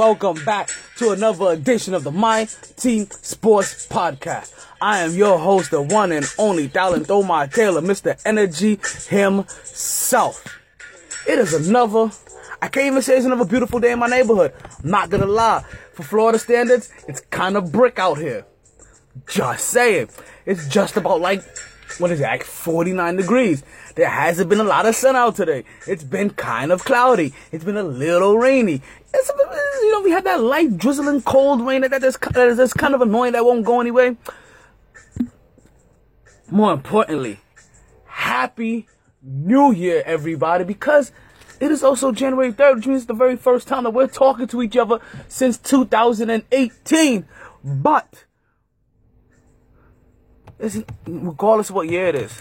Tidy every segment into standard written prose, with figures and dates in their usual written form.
welcome back to another edition of the My Team Sports Podcast. I am your host, the one and only Dalentho Taylor, Mr. Energy himself. It is I can't even say it's another beautiful day in my neighborhood. I'm not gonna lie. For Florida standards, it's kind of brick out here. Just saying. It's just about like 49 degrees. There hasn't been a lot of sun out today. It's been kind of cloudy. It's been a little rainy. We had that light drizzling cold rain that's kind of annoying that won't go anyway. More importantly, Happy New Year, everybody, because it is also January 3rd, which means it's the very first time that we're talking to each other since 2018. But regardless of what year it is,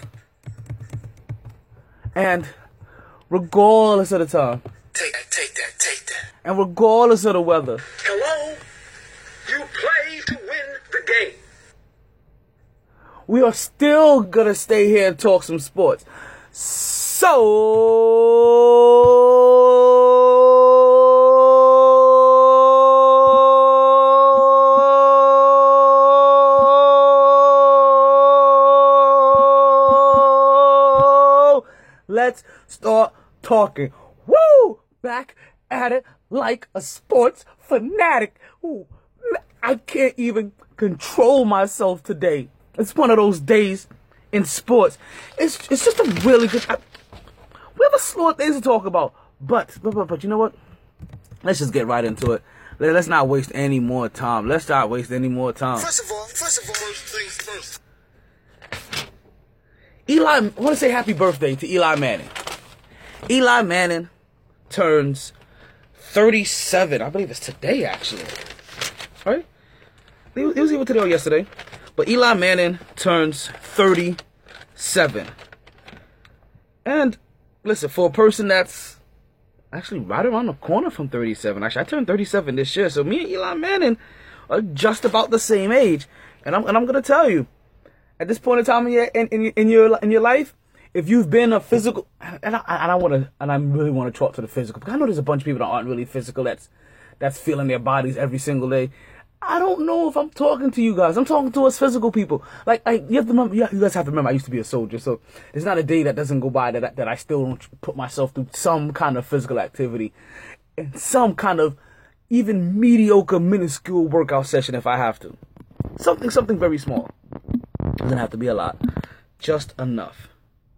and regardless of the time, take that. And regardless of the weather, hello, you play to win the game. We are still gonna stay here and talk some sports. Let's start talking. Woo! Back at it like a sports fanatic. Ooh, I can't even control myself today. It's one of those days in sports. It's just a really good. We have a slew of things to talk about, but you know what? Let's just get right into it. Let's not waste any more time. Let's not waste any more time. First of all, first things first. I want to say happy birthday to Eli Manning. Eli Manning turns 37. I believe it's today, actually. Right? It was either today or yesterday. But Eli Manning turns 37. And listen, for a person that's actually right around the corner from 37. Actually, I turned 37 this year. So me and Eli Manning are just about the same age. And I'm going to tell you, at this point in time in your life, if you've been a physical, and I really want to talk to the physical, because I know there's a bunch of people that aren't really physical, that's feeling their bodies every single day. I don't know if I'm talking to you guys. I'm talking to us physical people. Like you have to remember, you guys have to remember, I used to be a soldier, so there's not a day that doesn't go by that I still don't put myself through some kind of physical activity, and some kind of even mediocre, minuscule workout session if I have to. Something very small. Doesn't have to be a lot, just enough.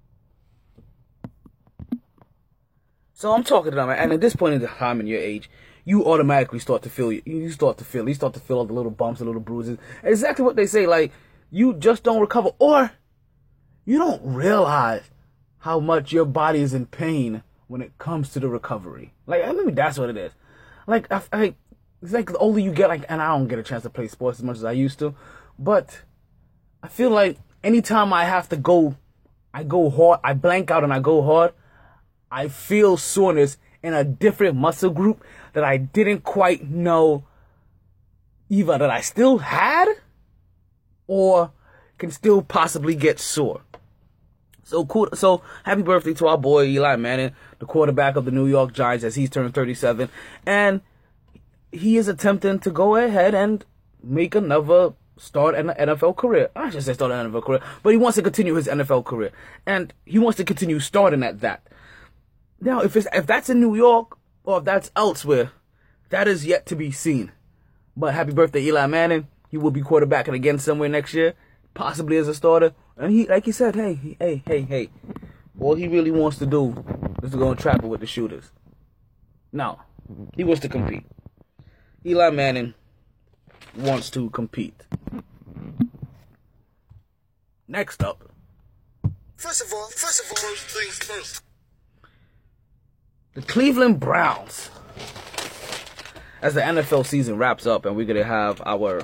So I'm talking to them, and at this point in the time in your age, you automatically start to feel you start to feel all the little bumps, the little bruises. Exactly what they say, like you just don't recover, or you don't realize how much your body is in pain when it comes to the recovery. Like maybe that's what it is. Like it's like the older you get, like, and I don't get a chance to play sports as much as I used to, but I feel like anytime I have to go, I go hard, I blank out and I go hard, I feel soreness in a different muscle group that I didn't quite know either that I still had or can still possibly get sore. So cool. So happy birthday to our boy Eli Manning, the quarterback of the New York Giants, as he's turned 37. And he is attempting to go ahead and make another start an NFL career. I should say start an NFL career, but he wants to continue his NFL career, and he wants to continue starting at that. Now, if that's in New York or if that's elsewhere, that is yet to be seen. But happy birthday, Eli Manning. He will be quarterbacking again somewhere next year, possibly as a starter. And he, like he said, hey, all he really wants to do is to go and trap it with the shooters. Now, he wants to compete. Eli Manning wants to compete. Next up. First of all, first things first. The Cleveland Browns. As the NFL season wraps up and we're going to have our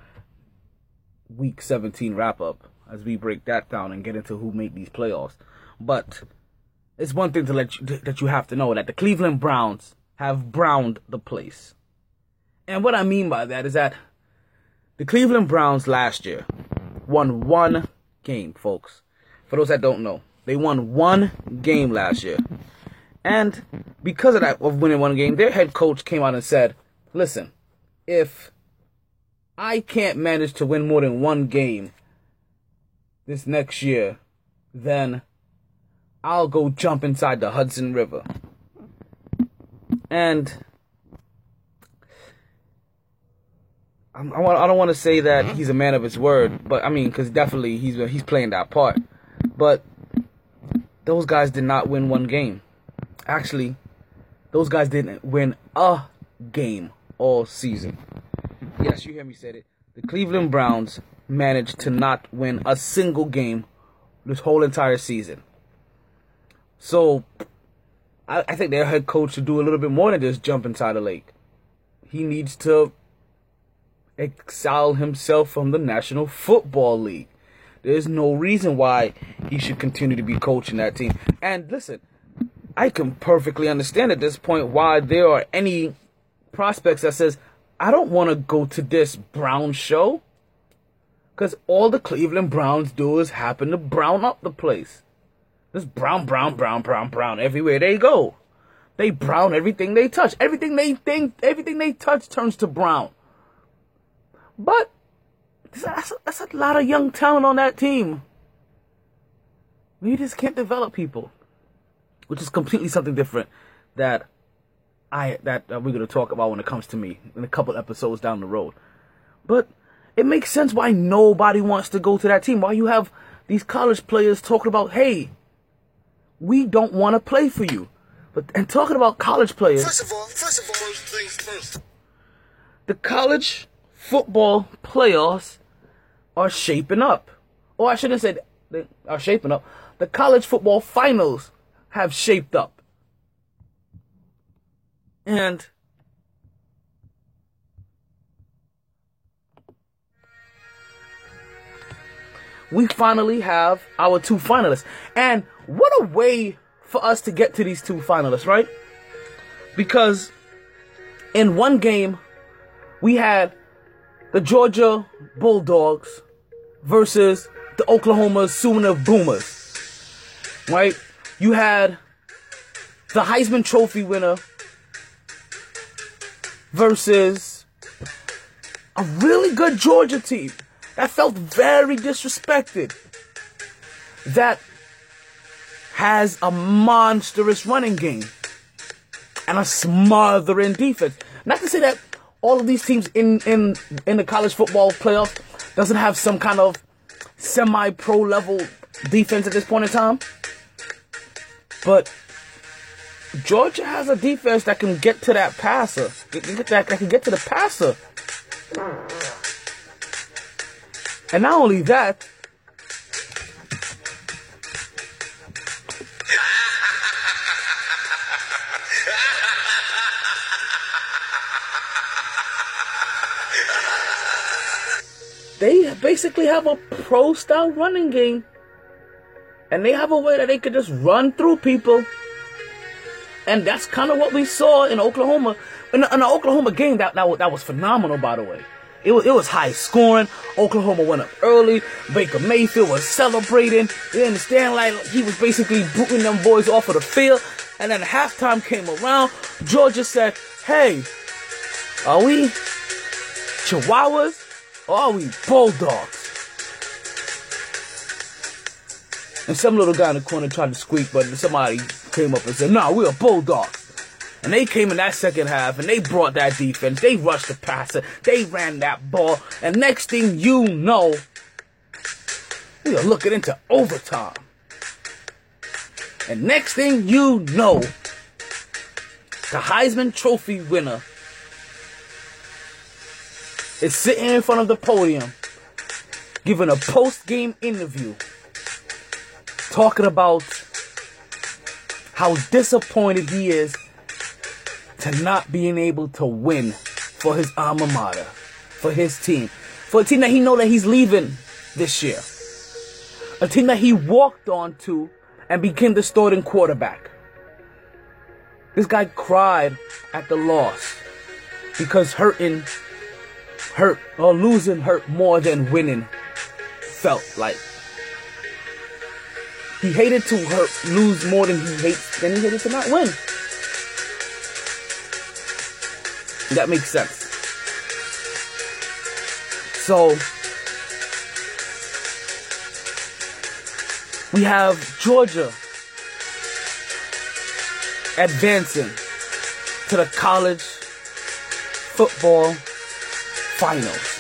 Week 17 wrap-up as we break that down and get into who made these playoffs. But it's one thing that you have to know, that the Cleveland Browns have browned the place. And what I mean by that is that the Cleveland Browns last year won one game, folks. For those that don't know, they won one game last year. And because of that, of winning one game, their head coach came out and said, listen, if I can't manage to win more than one game this next year, then I'll go jump inside the Hudson River. And I don't want to say that he's a man of his word, but I mean, because definitely he's playing that part. But those guys did not win one game. Actually, those guys didn't win a game all season. Yes, you hear me say it. The Cleveland Browns managed to not win a single game this whole entire season. So, I think their head coach should do a little bit more than just jump inside the lake. He needs to exile himself from the National Football League. There's no reason why he should continue to be coaching that team. And listen, I can perfectly understand at this point why there are any prospects that says, I don't want to go to this Brown show. Because all the Cleveland Browns do is happen to brown up the place. There's brown everywhere they go. They brown everything they touch. Everything they touch turns to brown. But that's a lot of young talent on that team. You just can't develop people, which is completely something different that we're going to talk about when it comes to me in a couple episodes down the road. But it makes sense why nobody wants to go to that team. Why you have these college players talking about, hey, we don't want to play for you. And talking about college players. First of all, first things first. The college football playoffs are shaping up. Or I shouldn't say they are shaping up. The college football finals have shaped up. And we finally have our two finalists. And what a way for us to get to these two finalists, right? Because in one game, we had the Georgia Bulldogs versus the Oklahoma Sooner Boomers, right? You had the Heisman Trophy winner versus a really good Georgia team that felt very disrespected, that has a monstrous running game and a smothering defense. Not to say that all of these teams in the college football playoffs doesn't have some kind of semi-pro level defense at this point in time, but Georgia has a defense that can get to that passer, that can get to the passer. And not only that, they basically have a pro-style running game. And they have a way that they could just run through people. And that's kind of what we saw in Oklahoma. In the Oklahoma game, that was phenomenal, by the way. It was high scoring. Oklahoma went up early. Baker Mayfield was celebrating. You understand? Like, he was basically booting them boys off of the field. And then halftime came around. Georgia said, hey, are we Chihuahuas or are we Bulldogs? And some little guy in the corner tried to squeak, but somebody came up and said, nah, we're Bulldogs. And they came in that second half, and they brought that defense. They rushed the passer. They ran that ball. And next thing you know, we are looking into overtime. And next thing you know, the Heisman Trophy winner is sitting in front of the podium, giving a post-game interview, talking about how disappointed he is to not being able to win for his alma mater, for his team, for a team that he know that he's leaving this year, a team that he walked on to and became the starting quarterback. This guy cried at the loss because losing hurt more than winning felt like. He hated to lose more than he hated to not win. That makes sense. So, we have Georgia advancing to the college football finals.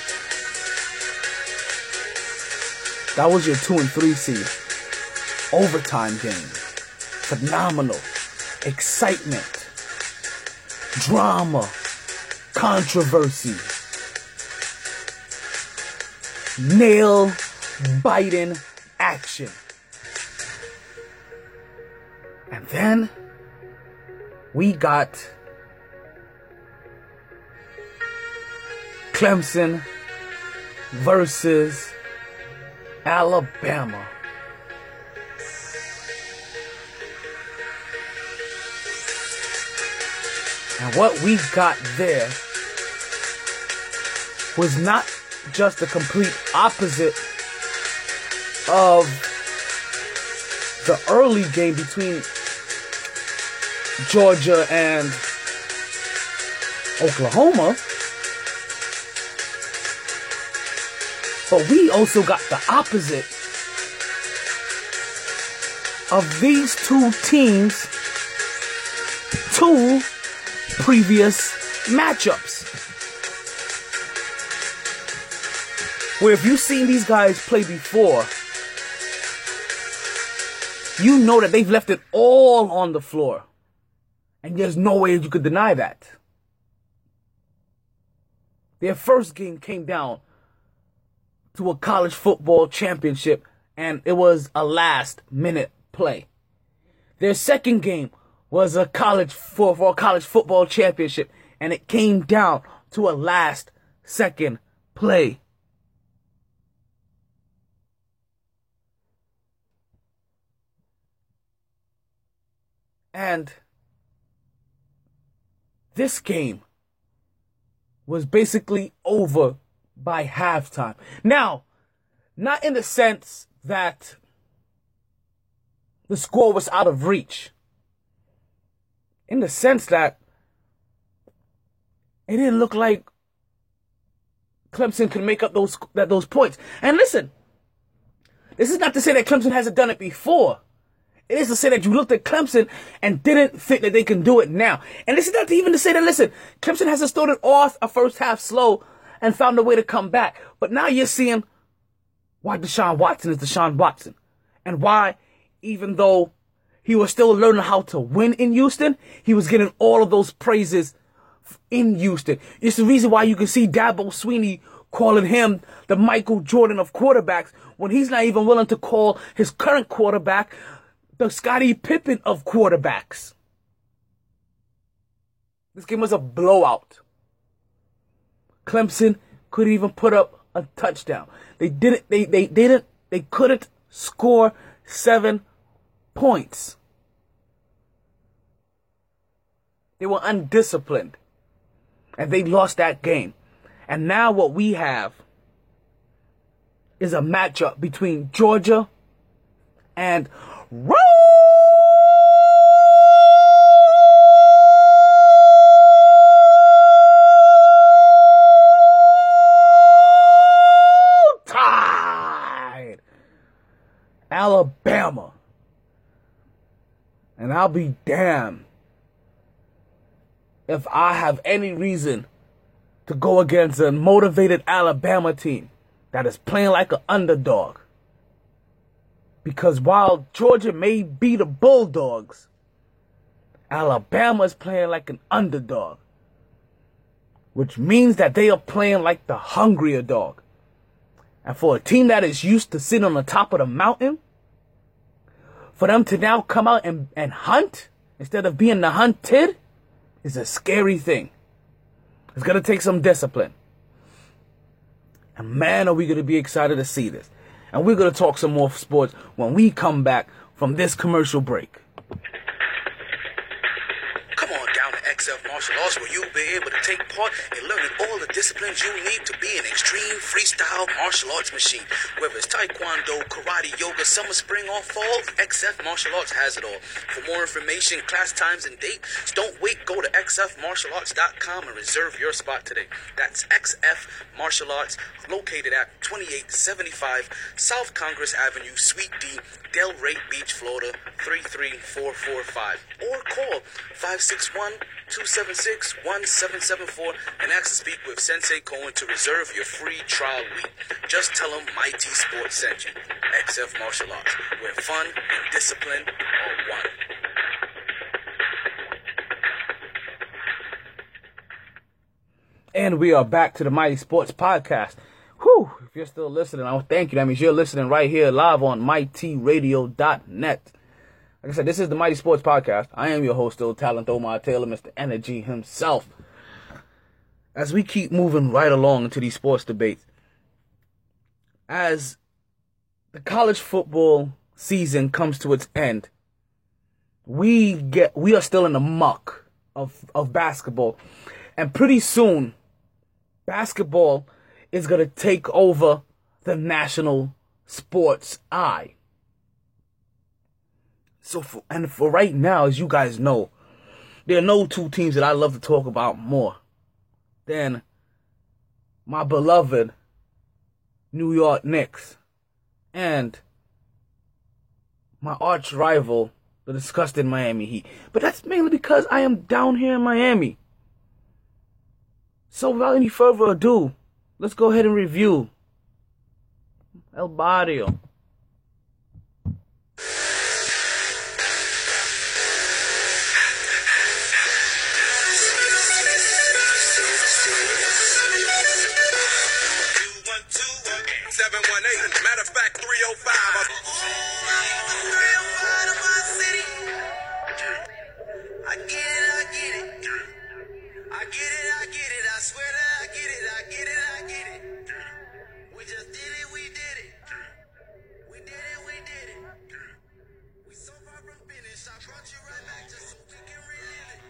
That was your 2 and 3 seed. Overtime game. Phenomenal. Excitement. Drama. Controversy. Nail-biting action. And then we got Clemson versus Alabama. And what we got there was not just the complete opposite of the early game between Georgia and Oklahoma, but we also got the opposite of these two teams' two previous matchups. Where if you've seen these guys play before, you know that they've left it all on the floor. And there's no way you could deny that. Their first game came down to a college football championship, and it was a last-minute play. Their second game was a college football championship, and it came down to a last-second play. And this game was basically over by halftime. Now, not in the sense that the score was out of reach. In the sense that it didn't look like Clemson could make up those points. And listen, this is not to say that Clemson hasn't done it before. It is to say that you looked at Clemson and didn't think that they can do it now. And this is not even to say that, listen, Clemson hasn't started off a first half slow and found a way to come back. But now you're seeing why Deshaun Watson is Deshaun Watson. And why, even though he was still learning how to win in Houston, he was getting all of those praises in Houston. It's the reason why you can see Dabo Swinney calling him the Michael Jordan of quarterbacks when he's not even willing to call his current quarterback the Scottie Pippen of quarterbacks. This game was a blowout. Clemson couldn't even put up a touchdown. They couldn't score 7 points. They were undisciplined. And they lost that game. And now what we have is a matchup between Georgia and Roll Tide, Alabama. And I'll be damned if I have any reason to go against a motivated Alabama team that is playing like an underdog. Because while Georgia may be the Bulldogs, Alabama is playing like an underdog. Which means that they are playing like the hungrier dog. And for a team that is used to sitting on the top of the mountain, for them to now come out and hunt instead of being the hunted is a scary thing. It's going to take some discipline. And man, are we going to be excited to see this. And we're going to talk some more sports when we come back from this commercial break. Come on down to XF Martial Arts, where you'll be able to take part in learning all the disciplines you need to be an extreme freestyle martial arts machine. Whether it's taekwondo, karate, yoga, summer, spring, or fall, XF Martial Arts has it all. For more information, class times, and dates, don't wait. Go to xfmartialarts.com and reserve your spot today. That's XF Martial Arts, located at 2875 South Congress Avenue, Suite D, Delray Beach, Florida, 33445. Or call 561-276-1774 and ask to speak with Sensei Cohen to reserve your free trial week. Just tell him Mighty Sports sent you. XF Martial Arts, where fun and discipline are one. And we are back to the Mighty Sports Podcast. Whew, if you're still listening, I want to thank you. That means you're listening right here live on mightyradio.net. Like I said, this is the Mighty Sports Podcast. I am your host, still Talent Omar Taylor, Mr. Energy himself. As we keep moving right along into these sports debates, as the college football season comes to its end, we are still in the muck of basketball. And pretty soon, basketball is going to take over the national sports eye. So for right now, as you guys know, there are no two teams that I love to talk about more than my beloved New York Knicks and my arch rival, the disgusting Miami Heat. But that's mainly because I am down here in Miami. So without any further ado, let's go ahead and review El Barrio. Matter of fact, 305. I get it. I swear that I get it. We just did it, we did it. We did it. We so far from finish. I brought you right back just so we can relive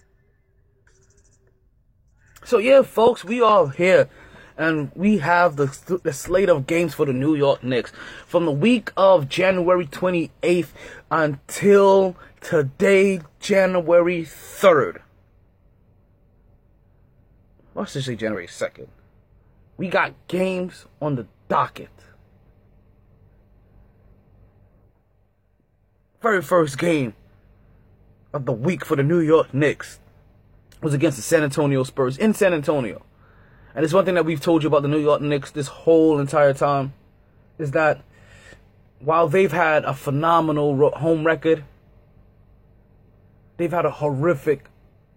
it. So yeah, folks, we are here. And we have the slate of games for the New York Knicks from the week of January 28th until today, January 3rd. Let's just say January 2nd. We got games on the docket. Very first game of the week for the New York Knicks was against the San Antonio Spurs in San Antonio. And it's one thing that we've told you about the New York Knicks this whole entire time, is that while they've had a phenomenal home record, they've had a horrific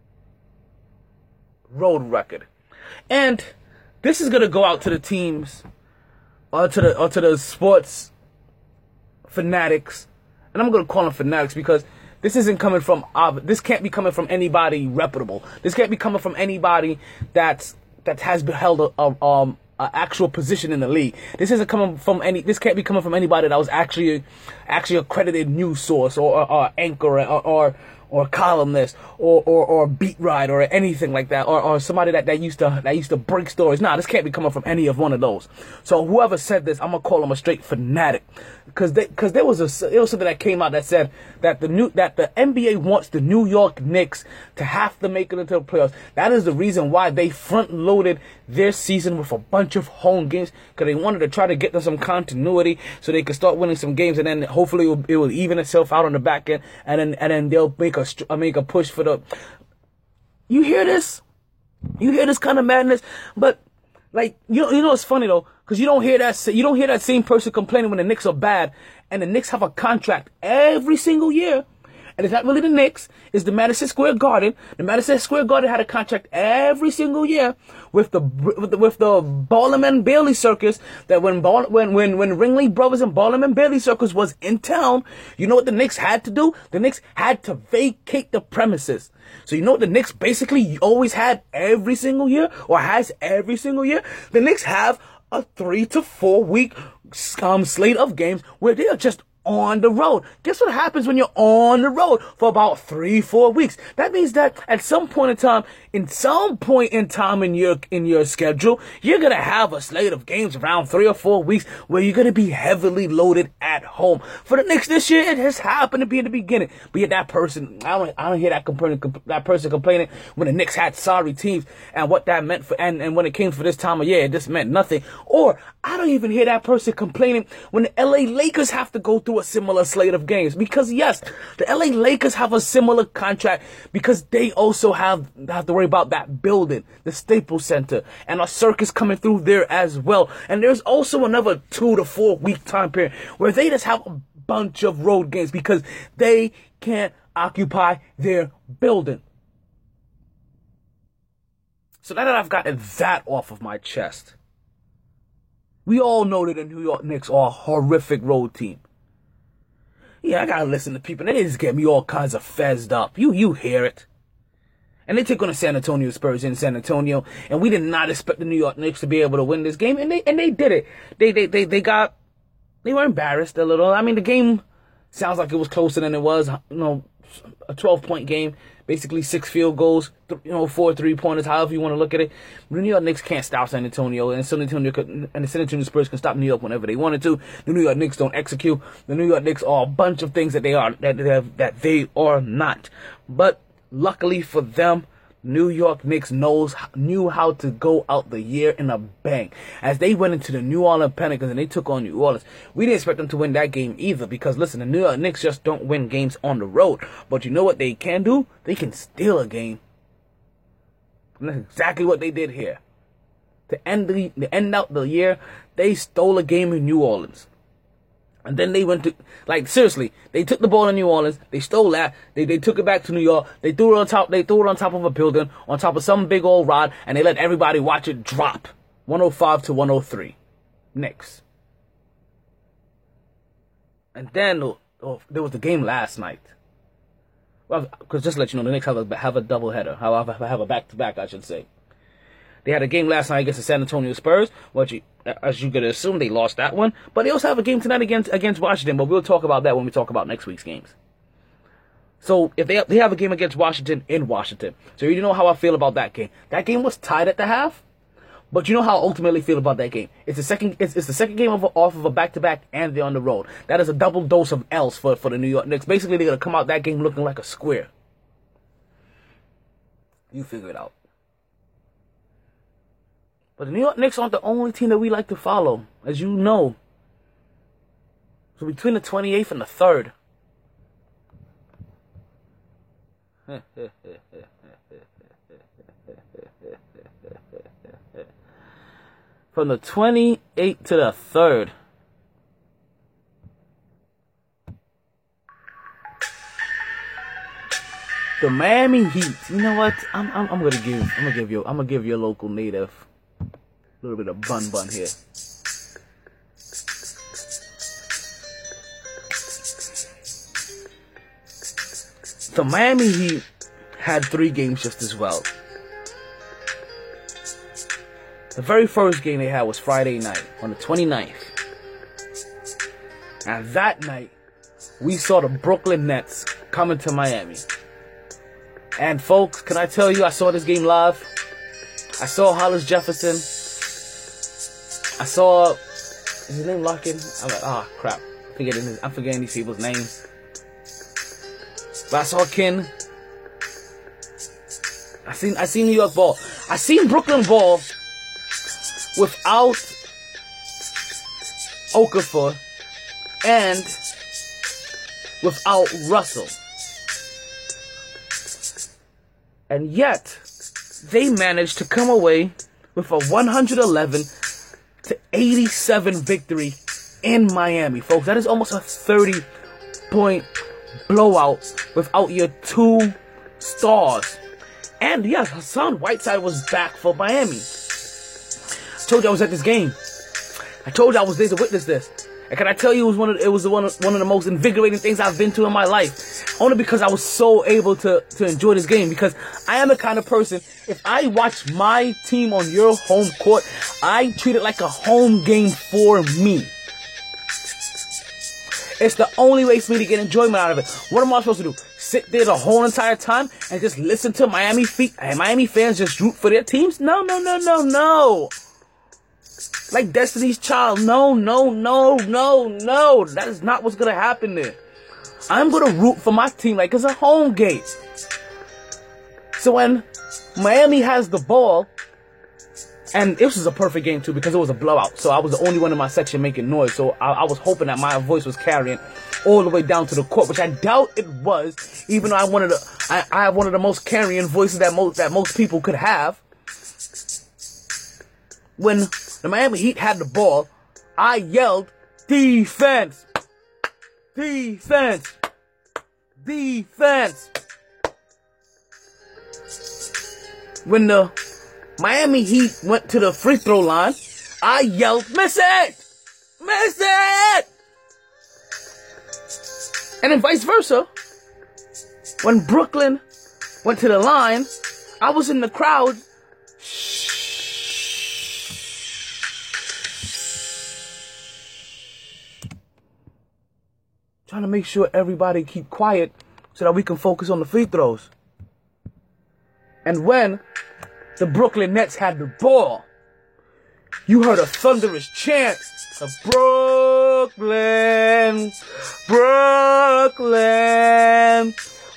road record. And this is going to go out to the teams, or to the sports fanatics. And I'm going to call them fanatics because this can't be coming from anybody reputable. This can't be coming from anybody that has held a actual position in the league. This can't be coming from anybody that was actually accredited news source or anchor or columnist or beat writer or anything like that, or somebody that used to break stories. Nah, this can't be coming from any of one of those. So whoever said this, I'm gonna call them a straight fanatic, because there was something that came out that said that the NBA wants the New York Knicks to have to make it into the playoffs. That is the reason why they front loaded their season with a bunch of home games, because they wanted to try to get them some continuity so they could start winning some games, and then hopefully it will even itself out on the back end, and then they'll make a push for the. You hear this? You hear this kind of madness? But like you know it's funny though, because you don't hear that same person complaining when the Knicks are bad, and the Knicks have a contract every single year. And it's not really the Knicks, it's the Madison Square Garden. The Madison Square Garden had a contract every single year with the Ballum and Bailey Circus. That when Ringling Brothers and Ballum and Bailey Circus was in town, you know what the Knicks had to do? The Knicks had to vacate the premises. So you know what the Knicks basically always had every single year, or has every single year? The Knicks have a 3 to 4 week slate of games where they are just on the road. Guess what happens when you're on the road for about 3-4 weeks? That means that at some point in time, in your schedule, you're gonna have a slate of games around 3 or 4 weeks where you're gonna be heavily loaded at home. For the Knicks this year, it has happened to be in the beginning. But yet that person, I don't hear that person complaining when the Knicks had sorry teams and what that meant for, and when it came for this time of year, it just meant nothing. Or I don't even hear that person complaining when the LA Lakers have to go through a similar slate of games. Because yes, the LA Lakers have a similar contract because they also have to worry about that building, the Staples Center, and a circus coming through there as well. And there's also another 2 to 4 week time period where they just have a bunch of road games because they can't occupy their building. So now that I've gotten that off of my chest, we all know that the New York Knicks are a horrific road team. Yeah, I gotta listen to people. They just get me all kinds of fezzed up. You hear it. And they take on the San Antonio Spurs in San Antonio, and we did not expect the New York Knicks to be able to win this game, and they did it. They were embarrassed a little. I mean, the game sounds like it was closer than it was. A 12-point game, basically 6 field goals, 4 3-pointers, however you want to look at it. The New York Knicks can't stop San Antonio, and the San Antonio Spurs can stop New York whenever they wanted to. The New York Knicks don't execute. The New York Knicks are a bunch of things that they are not. But luckily for them, New York Knicks knew how to go out the year in a bang. As they went into the New Orleans Pelicans and they took on New Orleans, we didn't expect them to win that game either because, listen, the New York Knicks just don't win games on the road. But you know what they can do? They can steal a game. And that's exactly what they did here. To end out the year, they stole a game in New Orleans. And then they went to, seriously, they took the ball in New Orleans, they stole that, they took it back to New York, they threw it on top of a building, on top of some big old rod, and they let everybody watch it drop. 105 to 103. Knicks. And then, there was the game last night. Well, because just to let you know, the Knicks have a doubleheader. Have a back-to-back, I should say. They had a game last night against the San Antonio Spurs, which, as you could assume, they lost that one. But they also have a game tonight against Washington, but we'll talk about that when we talk about next week's games. So, if they have a game against Washington in Washington. So, you know how I feel about that game. That game was tied at the half, but you know how I ultimately feel about that game. It's the second game off of a back-to-back, and they're on the road. That is a double dose of L's for the New York Knicks. Basically, they're going to come out that game looking like a square. You figure it out. But the New York Knicks aren't the only team that we like to follow, as you know. So between the 28th and the 3rd. From the 28th to the 3rd. The Miami Heat. You know what? I'm gonna give you a local native a little bit of bun here. The Miami Heat had 3 games just as well. The very first game they had was Friday night on the 29th. And that night, we saw the Brooklyn Nets coming to Miami. And folks, can I tell you, I saw this game live. I saw Hollis Jefferson. I saw, is his name Larkin? I'm like, crap. I'm forgetting these people's names. But I saw Ken. I seen New York ball. I seen Brooklyn ball without Okafor and without Russell. And yet, they managed to come away with a 111 to 87 victory in Miami, folks. That is almost a 30-point blowout without your 2 stars. And yes, Hassan Whiteside was back for Miami. I told you I was at this game. I told you I was there to witness this. And can I tell you, it was one of the most invigorating things I've been to in my life. Only because I was so able to enjoy this game. Because I am the kind of person, if I watch my team on your home court, I treat it like a home game for me. It's the only way for me to get enjoyment out of it. What am I supposed to do? Sit there the whole entire time and just listen to Miami fans just root for their teams? No. Like Destiny's Child. No. That is not what's going to happen there. I'm going to root for my team like it's a home game. So when Miami has the ball, and this was a perfect game too because it was a blowout. So I was the only one in my section making noise. So I was hoping that my voice was carrying all the way down to the court, which I doubt it was, even though I have one of the most carrying voices that most people could have. When the Miami Heat had the ball, I yelled, "Defense! Defense! Defense!" When the Miami Heat went to the free throw line, I yelled, "Miss it! Miss it!" And then vice versa. When Brooklyn went to the line, I was in the crowd. Trying to make sure everybody keep quiet so that we can focus on the free throws. And when the Brooklyn Nets had the ball, you heard a thunderous chant of Brooklyn, Brooklyn,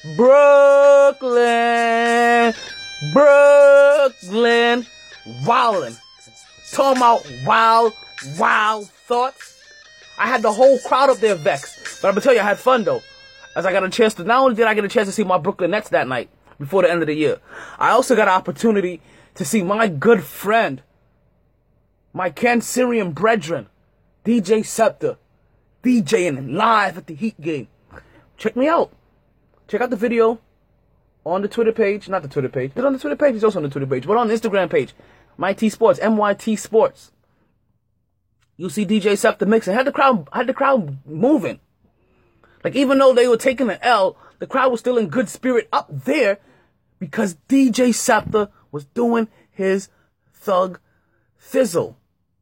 Brooklyn, Brooklyn, wildin'. Talking about wild thoughts. I had the whole crowd up there vexed. But I'm gonna tell you, I had fun though. As I got a chance to, not only did I get a chance to see my Brooklyn Nets that night, before the end of the year, I also got an opportunity to see my good friend, my Cancerian brethren, DJ Scepter, DJing live at the Heat game. Check me out. Check out the video on the Twitter page. Not the Twitter page, but on the Twitter page. It's also on the Twitter page, but on the Instagram page. MyT Sports, MYT Sports. You'll see DJ Scepter mixing. Had the crowd moving. Like, even though they were taking an L, the crowd was still in good spirit up there because DJ Scepter was doing his thug thizzle.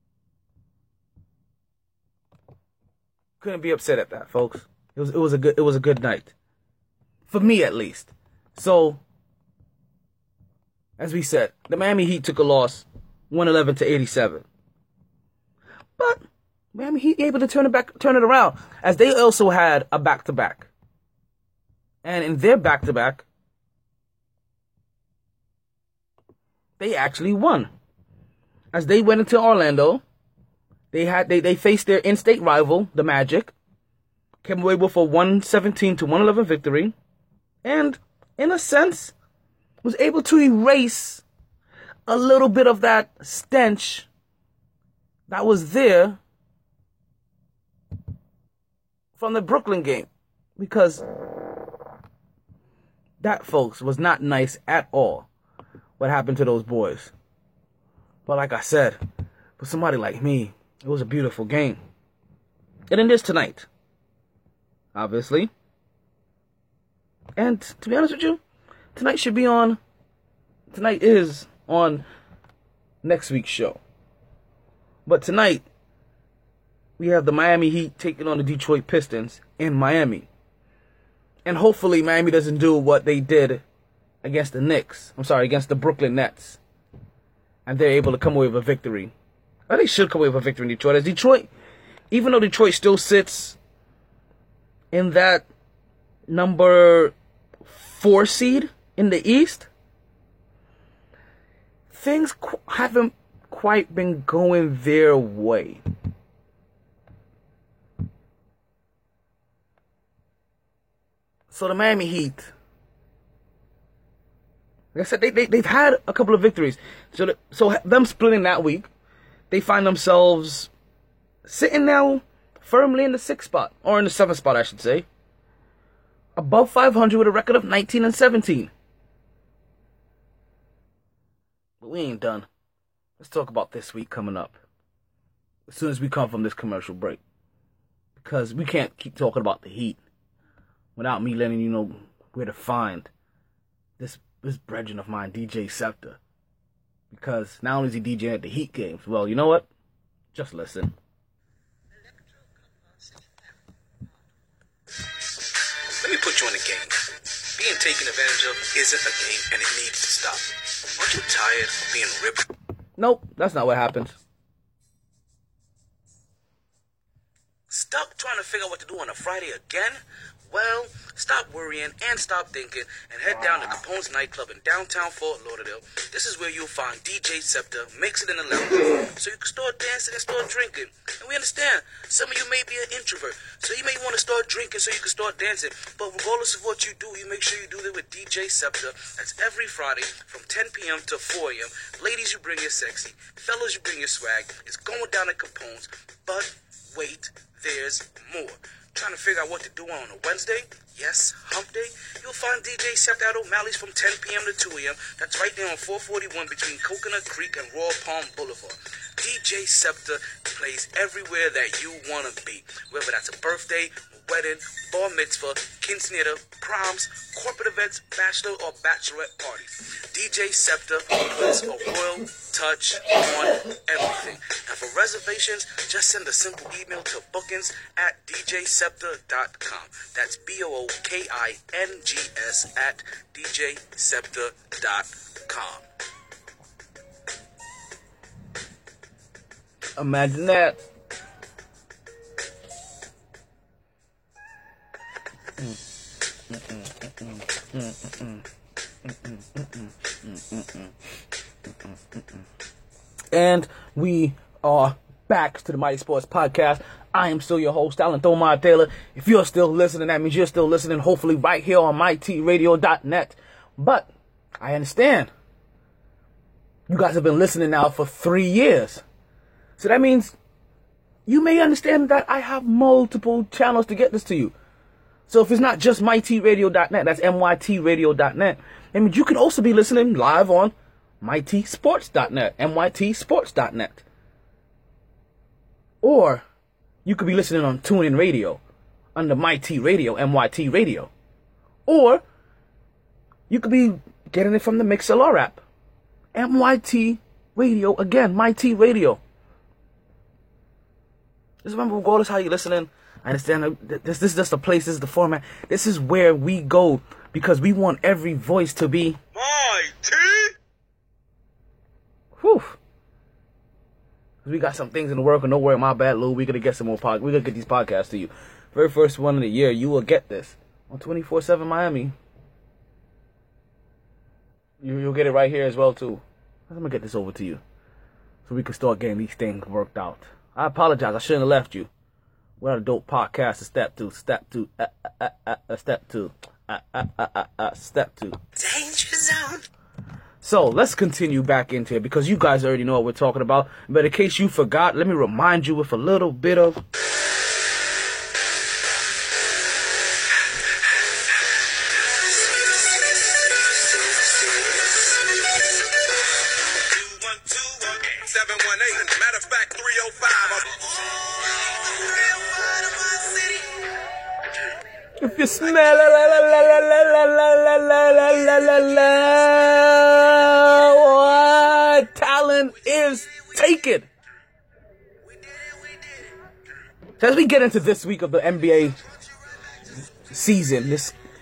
Couldn't be upset at that, folks. It was a good night. For me, at least. So, as we said, the Miami Heat took a loss, 111-87. But Miami Heat able to turn it around, as they also had a back-to-back. And in their back-to-back, they actually won. As they went into Orlando, they faced their in-state rival, the Magic, came away with a 117-111 victory, and in a sense, was able to erase a little bit of that stench that was there from the Brooklyn game. Because that, folks, was not nice at all, what happened to those boys. But like I said, for somebody like me, it was a beautiful game. And it is tonight, obviously. And to be honest with you, tonight is on next week's show. But tonight, we have the Miami Heat taking on the Detroit Pistons in Miami. And hopefully Miami doesn't do what they did against against the Brooklyn Nets. And they're able to come away with a victory. Or they should come away with a victory in Detroit. As Detroit, even though Detroit still sits in that number 4 seed in the East, things haven't quite been going their way. So the Miami Heat, like I said, they've had a couple of victories. So them splitting that week, they find themselves sitting now firmly in the 6th spot, or in the 7th spot, I should say, above 500 with a record of 19-17. But we ain't done. Let's talk about this week coming up, as soon as we come from this commercial break, because we can't keep talking about the Heat without me letting you know where to find this brethren of mine, DJ Scepter. Because not only is he DJing at the Heat games, well, you know what? Just listen. put you in a game. Being taken advantage of isn't a game, and it needs to stop. Aren't you tired of being ripped? Nope, that's not what happens. Stuck trying to figure out what to do on a Friday again? Well, stop worrying and stop thinking and head down to Capone's nightclub in downtown Fort Lauderdale. This is where you'll find DJ Scepter mixing in the lounge, so you can start dancing and start drinking. And we understand, some of you may be an introvert, so you may want to start drinking so you can start dancing. But regardless of what you do, you make sure you do that with DJ Scepter. That's every Friday from 10 p.m. to 4 a.m. Ladies, you bring your sexy. Fellas, you bring your swag. It's going down at Capone's. But wait, there's more. Trying to figure out what to do on a Wednesday? Yes, hump day? You'll find DJ Scepter at O'Malley's from 10 p.m. to 2 a.m. That's right there on 441 between Coconut Creek and Royal Palm Boulevard. DJ Scepter plays everywhere that you want to be. Whether that's a birthday, wedding, bar mitzvah, quinceanera, proms, corporate events, bachelor or bachelorette parties. DJ Scepter puts a royal touch on everything. And for reservations, just send a simple email to bookings@djscepter.com. That's BOOKINGS at djscepter.com. Imagine that. And we are back to the Mighty Sports Podcast. I am still your host, Alan Thomar Taylor. If you're still listening, that means you're still listening, hopefully right here on MyTRadio.net. But I understand you guys have been listening now for 3 years. So that means you may understand that I have multiple channels to get this to you. So if it's not just MyTRadio.net, that's MYTRadio.net, I mean, you could also be listening live on MyTSports.net, MYTSports.net. Or you could be listening on TuneIn Radio under MyT Radio, MYT Radio. Or you could be getting it from the Mixlr app, MYT Radio, again, MyT Radio. Just remember, regardless how you're listening, I understand this is just the place, this is the format. This is where we go because we want every voice to be Mighty. Whew. We got some things in the work, and don't worry, my bad, Lou. We're gonna get some more we're gonna get these podcasts to you. Very first one of the year, you will get this on 24/7 Miami. You'll get it right here as well too. I'm gonna get this over to you so we can start getting these things worked out. I apologize. I shouldn't have left you. We're a dope podcast. Step two. Step two. Danger zone. So let's continue back into it because you guys already know what we're talking about. But in case you forgot, let me remind you with a little bit of. Matter of fact, 305. If you smell what talent is taken. So as we get into this week of the NBA season,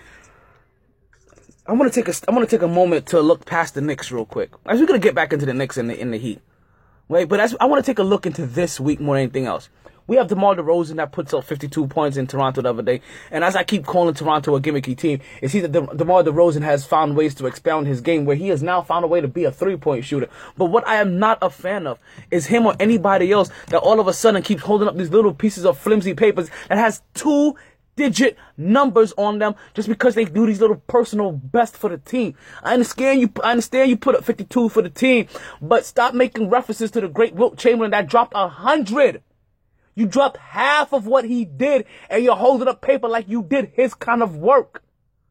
I want to take a moment to look past the Knicks real quick. As we're gonna get back into the Knicks and the Heat, right? But I want to take a look into this week more than anything else. We have DeMar DeRozan that puts up 52 points in Toronto the other day. And as I keep calling Toronto a gimmicky team, it's either DeMar DeRozan has found ways to expound his game where he has now found a way to be a three-point shooter. But what I am not a fan of is him or anybody else that all of a sudden keeps holding up these little pieces of flimsy papers that has 2-digit numbers on them just because they do these little personal best for the team. I understand you put up 52 for the team, but stop making references to the great Wilt Chamberlain that dropped 100. You dropped half of what he did, and you're holding up paper like you did his kind of work.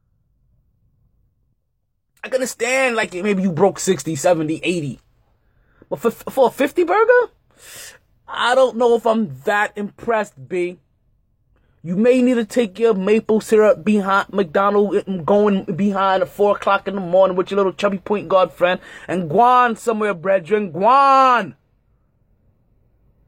I can understand, like, maybe you broke 60, 70, 80. But for a 50 burger? I don't know if I'm that impressed, B. You may need to take your maple syrup behind McDonald's, going behind at 4 o'clock in the morning with your little chubby point guard friend, and guan somewhere, brethren, guan.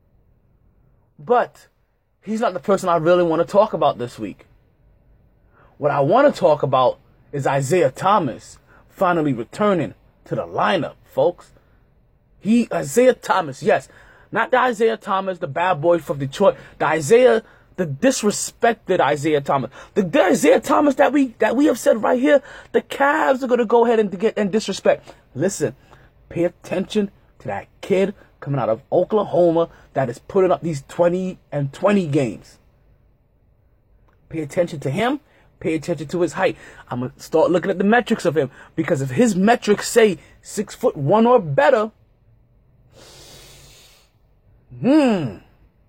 But he's not the person I really want to talk about this week. What I want to talk about is Isaiah Thomas finally returning to the lineup, folks. Isaiah Thomas, yes. Not the Isaiah Thomas, the bad boy from Detroit. The disrespected Isaiah Thomas. The Isaiah Thomas that we have said right here, the Cavs are going to go ahead and disrespect. Listen, pay attention to that kid coming out of Oklahoma that is putting up these 20 and 20 games. Pay attention to him. Pay attention to his height. I'm going to start looking at the metrics of him, because if his metrics say 6'1" or better, the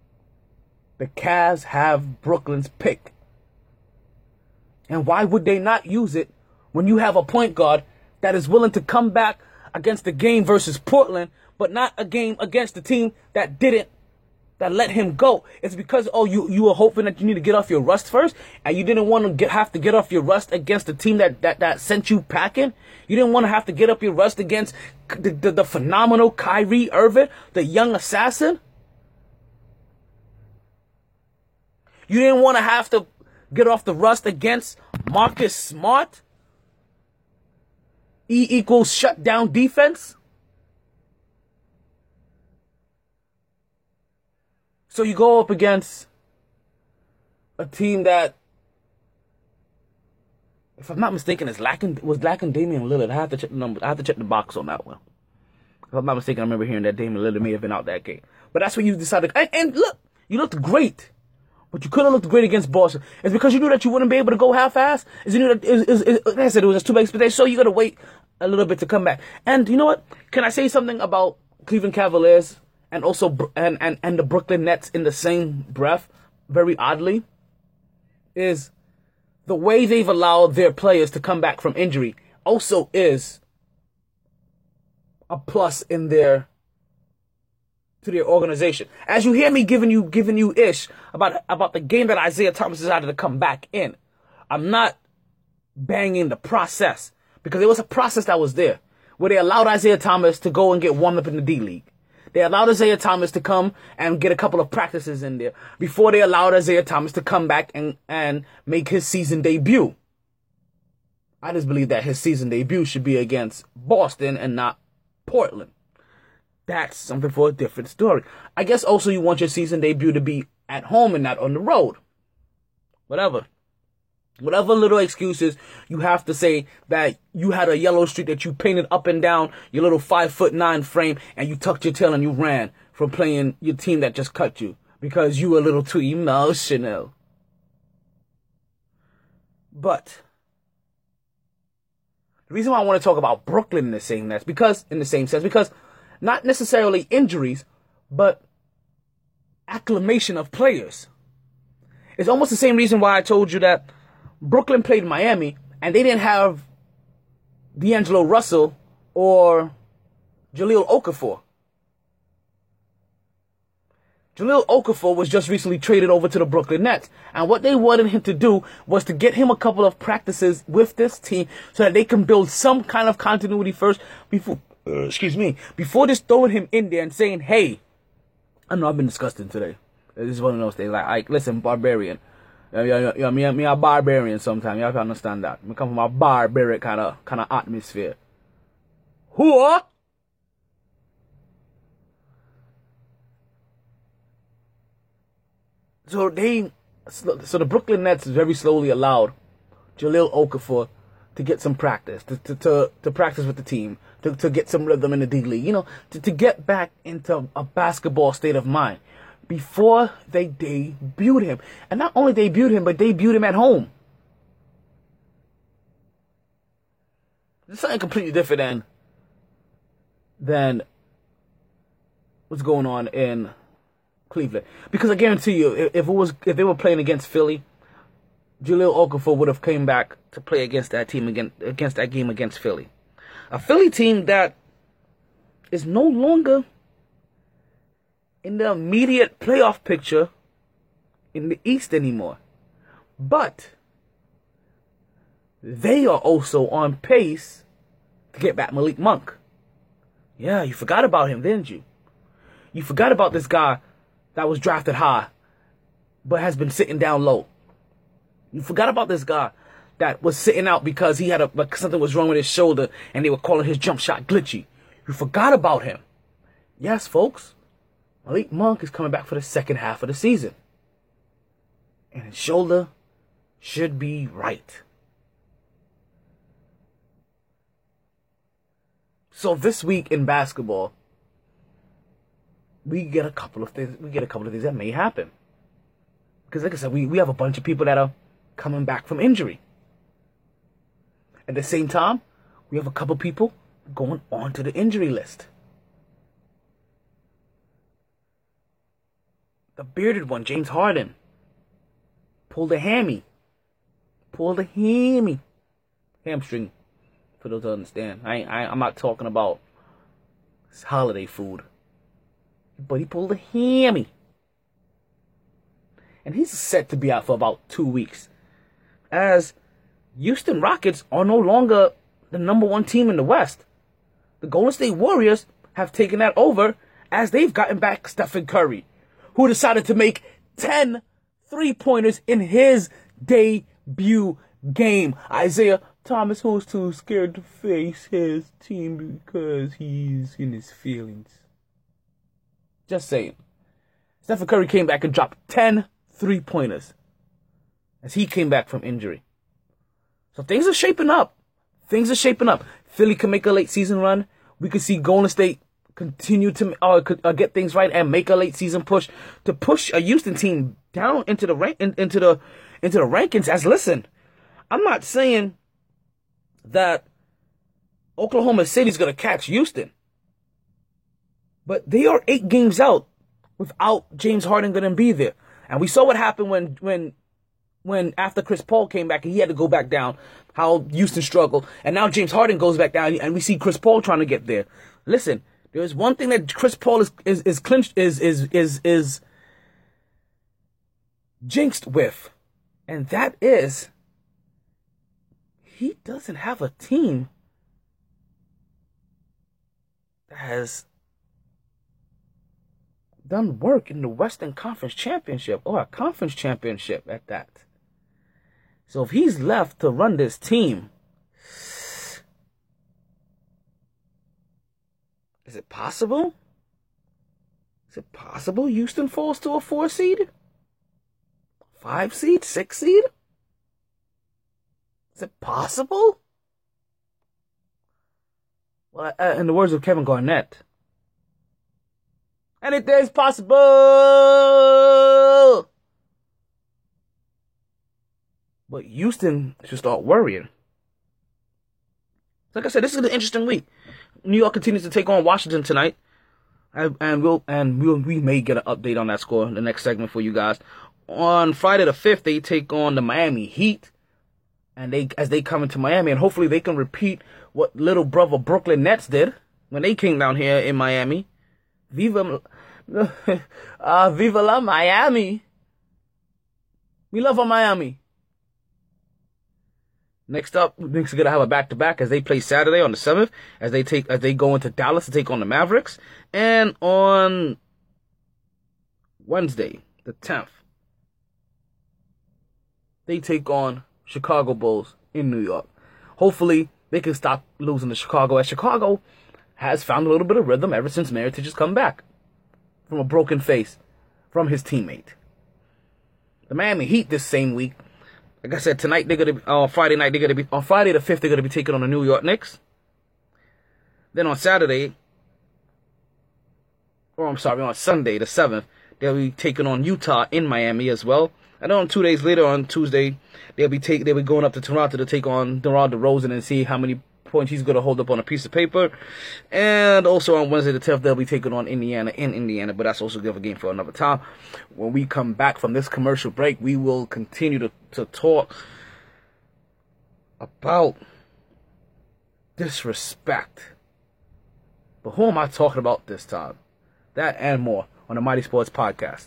Cavs have Brooklyn's pick. And why would they not use it when you have a point guard that is willing to come back against the game versus Portland, but not a game against the team that let him go? It's because, you were hoping that you need to get off your rust first, and you didn't want to have to get off your rust against the team that sent you packing. You didn't want to have to get up your rust against the phenomenal Kyrie Irving, the young assassin. You didn't want to have to get off the rust against Marcus Smart. E equals shutdown defense. So you go up against a team that, if I'm not mistaken, was lacking Damian Lillard. I have to check the numbers. I have to check the box on that one. If I'm not mistaken, I remember hearing that Damian Lillard may have been out that game. But that's what you decided. And look, you looked great. But you could have looked great against Boston. It's because you knew that you wouldn't be able to go half-ass. You knew that, like I said, it was just too big expectation. So you got to wait a little bit to come back. And you know what? Can I say something about Cleveland Cavaliers and also and the Brooklyn Nets in the same breath? Very oddly, is the way they've allowed their players to come back from injury also is a plus in their organization. As you hear me giving you ish about the game that Isaiah Thomas decided to come back in, I'm not banging the process, because it was a process that was there where they allowed Isaiah Thomas to go and get warmed up in the D League. They allowed Isaiah Thomas to come and get a couple of practices in there before they allowed Isaiah Thomas to come back and make his season debut. I just believe that his season debut should be against Boston and not Portland. That's something for a different story. I guess also you want your season debut to be at home and not on the road. Whatever little excuses you have to say that you had a yellow streak that you painted up and down your little 5'9" frame, and you tucked your tail and you ran from playing your team that just cut you because you were a little too emotional. But the reason why I want to talk about Brooklyn in the same sense, because not necessarily injuries, but acclimation of players. It's almost the same reason why I told you that Brooklyn played Miami and they didn't have D'Angelo Russell or Jahlil Okafor. Jahlil Okafor was just recently traded over to the Brooklyn Nets. And what they wanted him to do was to get him a couple of practices with this team so that they can build some kind of continuity first before just throwing him in there and saying, hey, I know I've been disgusting today. This is one of those things. Like listen, barbarian. Me a barbarian sometimes. You have to understand that. I come from a barbaric kind of atmosphere. Who? So the Brooklyn Nets very slowly allowed Jahlil Okafor to get some practice, to practice with the team, to get some rhythm in the D League, to get back into a basketball state of mind before they debuted him. And not only debuted him, but debuted him at home. It's something completely different than what's going on in Cleveland. Because I guarantee you, if they were playing against Philly, Jahlil Okafor would have came back to play against that team against that game against Philly. A Philly team that is no longer in the immediate playoff picture in the East anymore. But they are also on pace to get back Malik Monk. Yeah, you forgot about him, didn't you? You forgot about this guy that was drafted high, but has been sitting down low. You forgot about this guy that was sitting out because he had like something was wrong with his shoulder and they were calling his jump shot glitchy. You forgot about him. Yes, folks. Malik Monk is coming back for the second half of the season. And his shoulder should be right. So this week in basketball, we get a couple of things that may happen. Because like I said, we have a bunch of people that are coming back from injury. At the same time, we have a couple people going on to the injury list. The bearded one, James Harden, pulled a hammy. Hamstring, for those who understand. I'm not talking about holiday food. But he pulled a hammy. And he's set to be out for about 2 weeks. As Houston Rockets are no longer the number one team in the West. The Golden State Warriors have taken that over as they've gotten back Stephen Curry, who decided to make 10 3-pointers in his debut game. Isaiah Thomas, who's too scared to face his team because he's in his feelings. Just saying. Stephen Curry came back and dropped 10 3-pointers as he came back from injury. So things are shaping up. Philly can make a late season run. We could see Golden State continue to get things right and make a late season push to push a Houston team down into the rankings. As listen, I'm not saying that Oklahoma City's going to catch Houston, but they are 8 games out without James Harden going to be there. And we saw what happened when after Chris Paul came back and he had to go back down, how Houston struggled. And now James Harden goes back down and we see Chris Paul trying to get there. Listen, there's one thing that Chris Paul is jinxed with, and that is he doesn't have a team that has done work in the Western Conference Championship, or a conference championship at that. So if he's left to run this team, is it possible? Houston falls to a 4 seed? 5 seed? 6 seed? Is it possible? Well, in the words of Kevin Garnett, anything is possible. But Houston should start worrying. Like I said, this is an interesting week. New York continues to take on Washington tonight, and we may get an update on that score in the next segment for you guys. On Friday the 5th, they take on the Miami Heat, and as they come into Miami, and hopefully they can repeat what little brother Brooklyn Nets did when they came down here in Miami. Viva la Miami. We love our Miami. Next up, Knicks are gonna have a back-to-back as they play Saturday on the 7th, as they go into Dallas to take on the Mavericks, and on Wednesday, the 10th, they take on Chicago Bulls in New York. Hopefully, they can stop losing to Chicago, as Chicago has found a little bit of rhythm ever since Mirotic has come back from a broken face from his teammate. The Miami Heat this same week, like I said, tonight on Friday the 5th, they're gonna be taking on the New York Knicks. Then on Sunday, the 7th, they'll be taking on Utah in Miami as well. And then on 2 days later, on Tuesday, they'll be going up to Toronto to take on DeMar DeRozan and see how many points he's gonna hold up on a piece of paper. And also on Wednesday the 10th, they'll be taking on Indiana in Indiana, but that's also a game for another time. When we come back from this commercial break, we will continue to talk about disrespect. But who am I talking about this time? That and more on the Mighty Sports Podcast.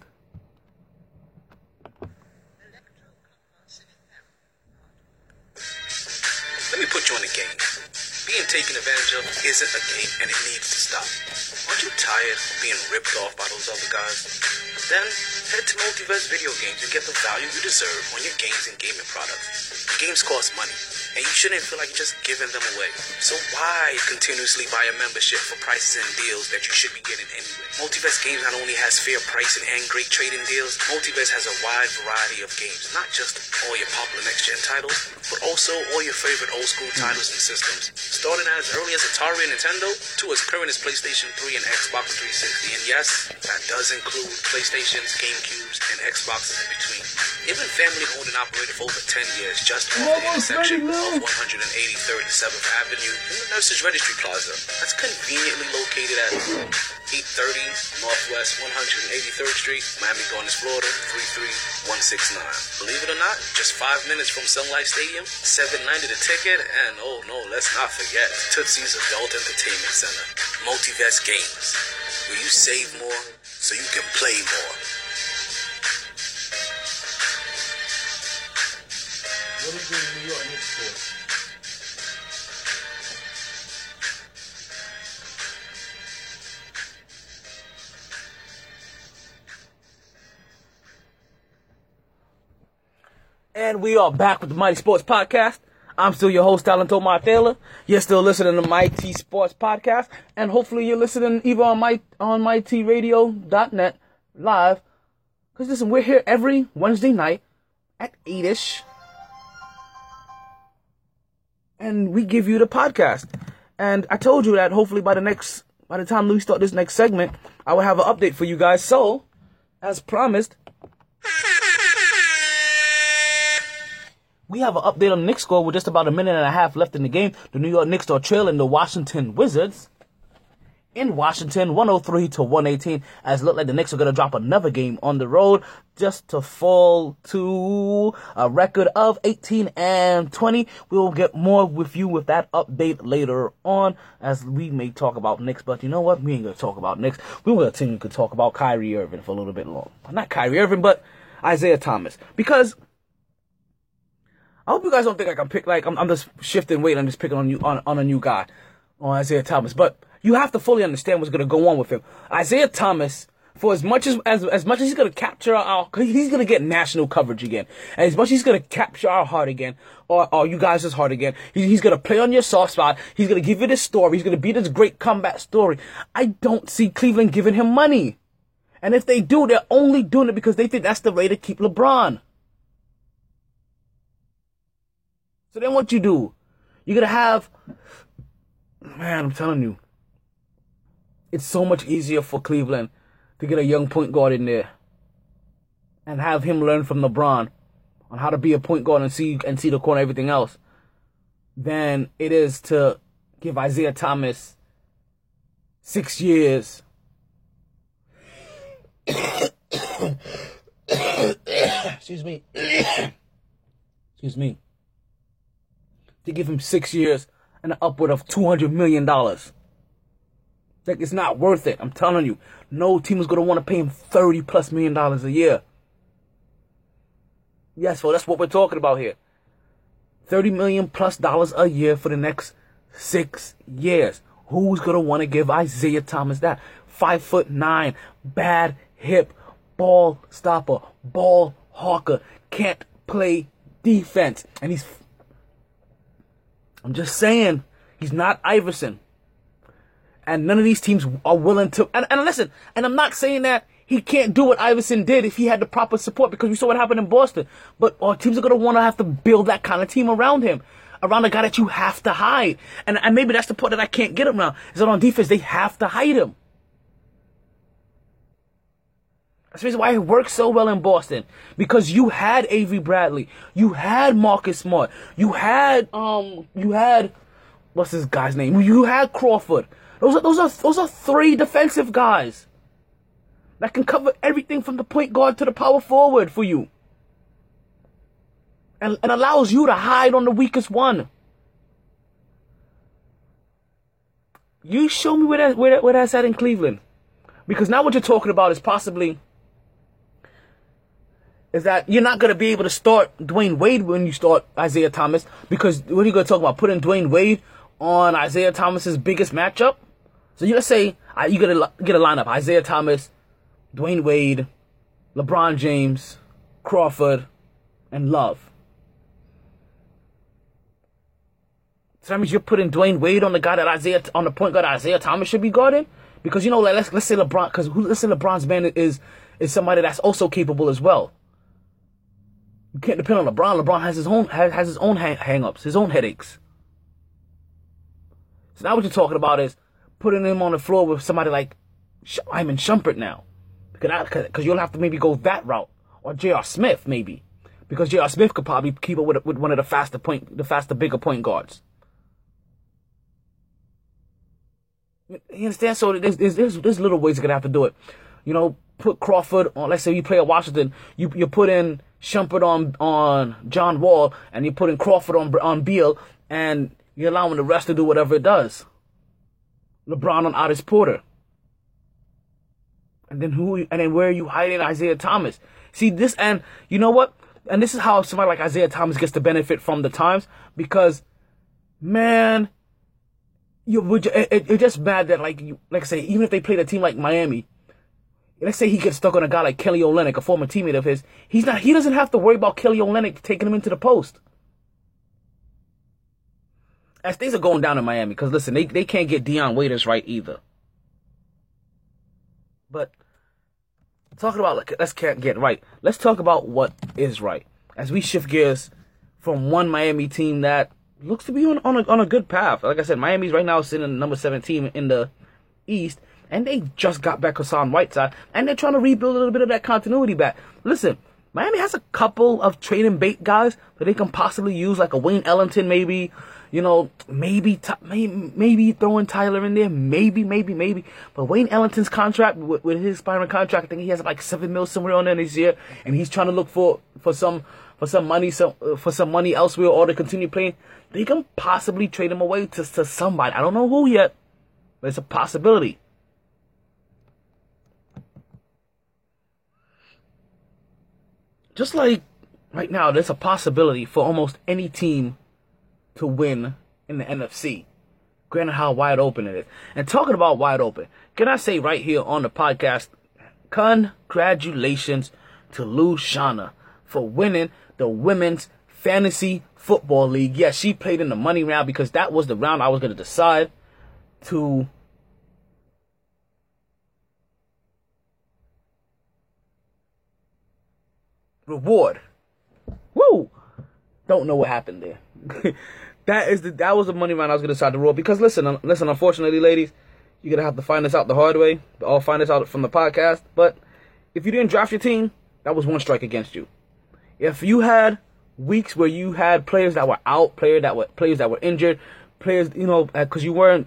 Let me put you on the game. Being taken advantage of isn't a game, and it needs to stop. Aren't you tired of being ripped off by those other guys? Then Head to Multiverse Video Games and get the value you deserve on your games and gaming products. Games cost money, and you shouldn't feel like you're just giving them away. So why continuously buy a membership for prices and deals that you should be getting anyway? Multiverse Games not only has fair pricing and great trading deals, Multiverse has a wide variety of games, not just all your popular next-gen titles, but also all your favorite old-school titles and systems, starting as early as Atari and Nintendo to as current as PlayStation 3 and Xbox 360. And yes, that does include PlayStations, GameCubes, and Xboxes in between. They've been family-owned and operated for over 10 years, just off the intersection of 183rd and 7th Avenue in the Nurses Registry Plaza. That's conveniently located at 830 Northwest 183rd Street, Miami Gardens, Florida 33169. Believe it or not, just 5 minutes from Sun Life Stadium, $7.90 the ticket, and oh no, let's not forget Tootsie's Adult Entertainment Center. Multiverse Games, where you save more so you can play more. What is the New York Knicks for? And we are back with the Mighty Sports Podcast. I'm still your host, Talento Martela. You're still listening to Mighty Sports Podcast, and hopefully you're listening either on mightyradio.net live. Because listen, we're here every Wednesday night at 8ish. And we give you the podcast. And I told you that hopefully by the time we start this next segment, I will have an update for you guys. So, as promised, we have an update on the Knicks score with just about a minute and a half left in the game. The New York Knicks are trailing the Washington Wizards in Washington, 103-118, as it looked like the Knicks are going to drop another game on the road just to fall to a record of 18-20. We will get more with you with that update later on, as we may talk about Knicks, but you know what? We ain't going to talk about Knicks. We're going to continue to talk about Kyrie Irving for a little bit longer. Not Kyrie Irving, but Isaiah Thomas. Because I hope you guys don't think I can pick, like, I'm just shifting weight, I'm just picking on you, on a new guy, on Isaiah Thomas, but you have to fully understand what's going to go on with him. Isaiah Thomas, for as much as he's going to capture he's going to get national coverage again, and as much as he's going to capture our heart again, or you guys' heart again, he's going to play on your soft spot, he's going to give you this story, he's going to be this great comeback story. I don't see Cleveland giving him money. And if they do, they're only doing it because they think that's the way to keep LeBron. So then what you do? You're going to have, man, I'm telling you, it's so much easier for Cleveland to get a young point guard in there and have him learn from LeBron on how to be a point guard and see the corner, everything else, than it is to give Isaiah Thomas 6 years. Excuse me. Excuse me. To give him 6 years and an upward of $200 million. Like, it's not worth it. I'm telling you. No team is going to want to pay him $30+ million a year. Yes, well, that's what we're talking about here. $30 million+ a year for the next 6 years. Who's going to want to give Isaiah Thomas that? 5'9", bad hip, ball stopper, ball hawker, can't play defense. And I'm just saying, he's not Iverson. And none of these teams are willing to, and listen, and I'm not saying that he can't do what Iverson did if he had the proper support, because we saw what happened in Boston. But teams are going to want to have to build that kind of team around him, around a guy that you have to hide. And maybe that's the part that I can't get around, is that on defense, they have to hide him. That's the reason why it worked so well in Boston. Because you had Avery Bradley. You had Marcus Smart. You had, what's this guy's name? You had Crawford. Those are three defensive guys that can cover everything from the point guard to the power forward for you. And allows you to hide on the weakest one. You show me where that's at in Cleveland. Because now what you're talking about is possibly is that you're not going to be able to start Dwayne Wade when you start Isaiah Thomas. Because what are you going to talk about? Putting Dwayne Wade on Isaiah Thomas's biggest matchup? So let's say you get a lineup: Isaiah Thomas, Dwayne Wade, LeBron James, Crawford, and Love. So that means you're putting Dwayne Wade on the guy that on the point guard Isaiah Thomas should be guarding? Because, you know, like, let's say LeBron, because let's say LeBron's man is somebody that's also capable as well. You can't depend on LeBron. LeBron has his own hang-ups, his own headaches. So now what you're talking about is putting him on the floor with somebody like Iman Shumpert now. Because you'll have to maybe go that route. Or J.R. Smith, maybe. Because J.R. Smith could probably keep up with one of the faster, bigger point guards. You understand? So there's little ways you're going to have to do it. You know, put Crawford on, let's say you play at Washington, you put in Shumpert on John Wall, and you put in Crawford on Beal, and you're allowing the rest to do whatever it does. LeBron on Ottis Porter. And then where are you hiding Isaiah Thomas? See this, and you know what? And this is how somebody like Isaiah Thomas gets to benefit from the times, because, man, it's just bad that, like I say, even if they played a team like Miami, let's say he gets stuck on a guy like Kelly Olynyk, a former teammate of his, he doesn't have to worry about Kelly Olynyk taking him into the post. As things are going down in Miami, because listen, they can't get Dion Waiters right either. But talking about, let's can't get right. Let's talk about what is right. As we shift gears from one Miami team that looks to be on a good path. Like I said, Miami's right now sitting in the number 7 team in the East, and they just got back Hassan Whiteside, and they're trying to rebuild a little bit of that continuity back. Listen, Miami has a couple of trading bait guys that they can possibly use, like a Wayne Ellington, maybe. You know, maybe throwing Tyler in there, maybe. But Wayne Ellington's contract, with his expiring contract, I think he has like $7 million somewhere on there this year, and he's trying to look for some money elsewhere, or to continue playing. They can possibly trade him away to somebody. I don't know who yet, but it's a possibility. Just like right now, there's a possibility for almost any team to win in the NFC. Granted how wide open it is. And talking about wide open, can I say right here on the podcast, congratulations to Lou Shana for winning the Women's Fantasy Football League. Yes, she played in the money round, because that was the round I was going to decide to reward. Woo! Don't know what happened there. That was the money round I was going to decide to roll. Because listen, unfortunately, ladies, you're going to have to find this out the hard way. I'll find this out from the podcast. But if you didn't draft your team, that was one strike against you. If you had weeks where you had players that were out, players that were injured, players, you know, because you weren't